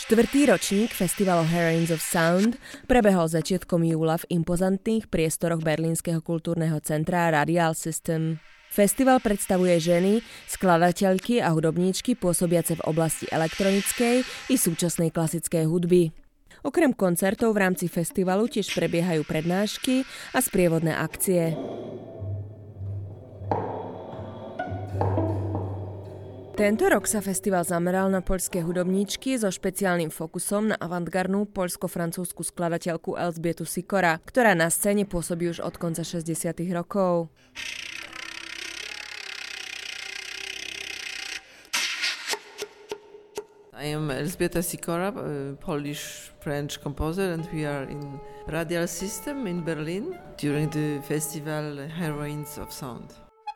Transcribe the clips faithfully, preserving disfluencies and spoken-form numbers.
Štvrtý ročník festivalu Heroines of Sound prebehol začiatkom júla v impozantných priestoroch berlínskeho kultúrneho centra Radial System. Festival predstavuje ženy, skladateľky a hudobníčky pôsobiace v oblasti elektronickej i súčasnej klasickej hudby. Okrem koncertov v rámci festivalu tiež prebiehajú prednášky a sprievodné akcie. Tento rok sa festival zameral na poľské hudobníčky so špeciálnym fokusom na avantgardnú poľsko-francúzsku skladateľku Elżbietu Sikora, ktorá na scéne pôsobí už od konca šesťdesiatych rokov. I am Elżbieta Sikora, a Polish-French composer, and we are in Radial System in Berlin during the festival Heroines of Sound.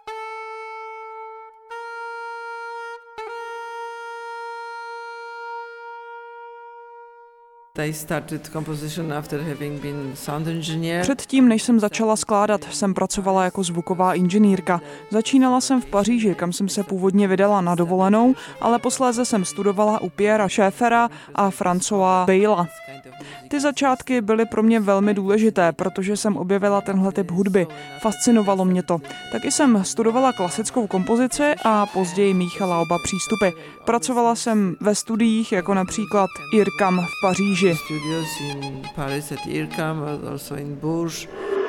Předtím, než jsem začala skládat, jsem pracovala jako zvuková inženýrka. Začínala jsem v Paříži, kam jsem se původně vydala na dovolenou, ale posléze jsem studovala u Pierra Schaeffera a Françoise Bejla. Ty začátky byly pro mě velmi důležité, protože jsem objevila tenhle typ hudby. Fascinovalo mě to. Taky jsem studovala klasickou kompozici a později míchala oba přístupy. Pracovala jsem ve studiích, jako například IRCAM v Paříži. Studios in Paris at IRCAM, also in Bourges.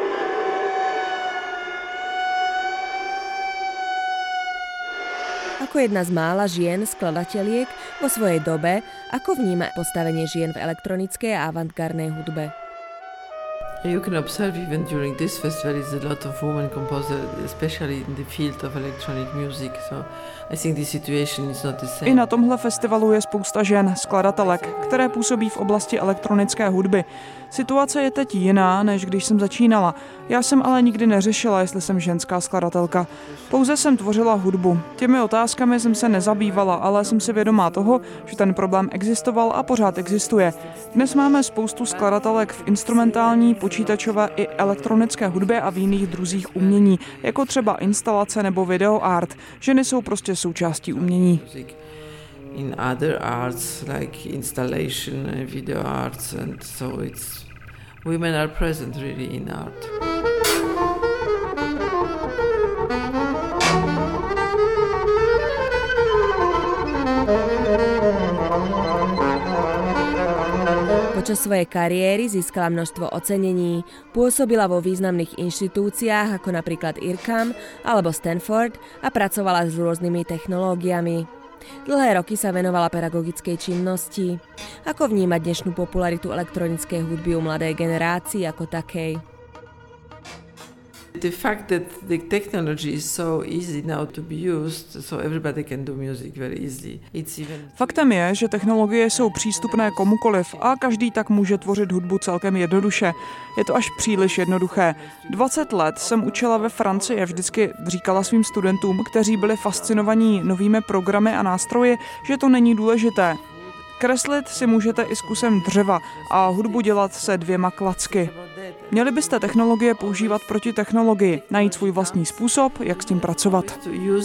Ako jedna z mála žien skladateliek vo svojej dobe, ako vníma postavenie žien v elektronickej a avantgardnej hudbe. You can observe even during this festival is a lot of women composers, especially in the field of electronic music. So I think the situation is not the same. I na tomhle festivalu je spousta žen, skladatelek, které působí v oblasti elektronické hudby. Situace je teď jiná, než když jsem začínala. Já jsem ale nikdy neřešila, jestli jsem ženská skladatelka. Pouze jsem tvořila hudbu. Těmi otázkami jsem se nezabývala, ale jsem si vědomá toho, že ten problém existoval a pořád existuje. Dnes máme spoustu skladatelek v instrumentální, počítačové i elektronické hudbě a v jiných druzích umění, jako třeba instalace nebo videoart. Ženy jsou prostě součástí umění. In other arts like installation, video arts, and so it's women are present really in art. Počas svojej kariéry získala množstvo ocenení. Pôsobila vo významných inštitúciách ako napríklad IRCAM alebo Stanford a pracovala s rôznymi technológiami. Dlhé roky sa venovala pedagogickej činnosti. Ako vnímať dnešnú popularitu elektronickej hudby u mladej generácii ako takej? The fact that the technology is so easy now to be used, so everybody can do music very easily. It's even... Faktem je, že technologie jsou přístupné komukoliv a každý tak může tvořit hudbu celkem jednoduše. Je to až příliš jednoduché. dvacet let jsem učila ve Francii a vždycky říkala svým studentům, kteří byli fascinovaní novými programy a nástroji, že to není důležité. Kreslit si můžete i s kusem dřeva a hudbu dělat se dvěma klacky. Měli byste technologie používat proti technologii, najít svůj vlastní způsob, jak s tím pracovat.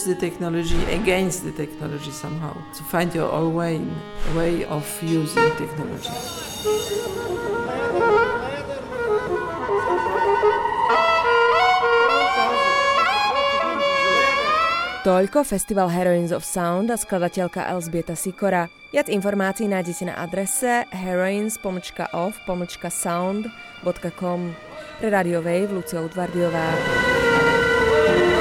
Toľko festival Heroines of Sound a skladateľka Elżbieta Sikora. Viac informácií nájdete na adrese heroines pomlčka of pomlčka sound bodka com. Pre Radio Wave Lucia Utvardiová.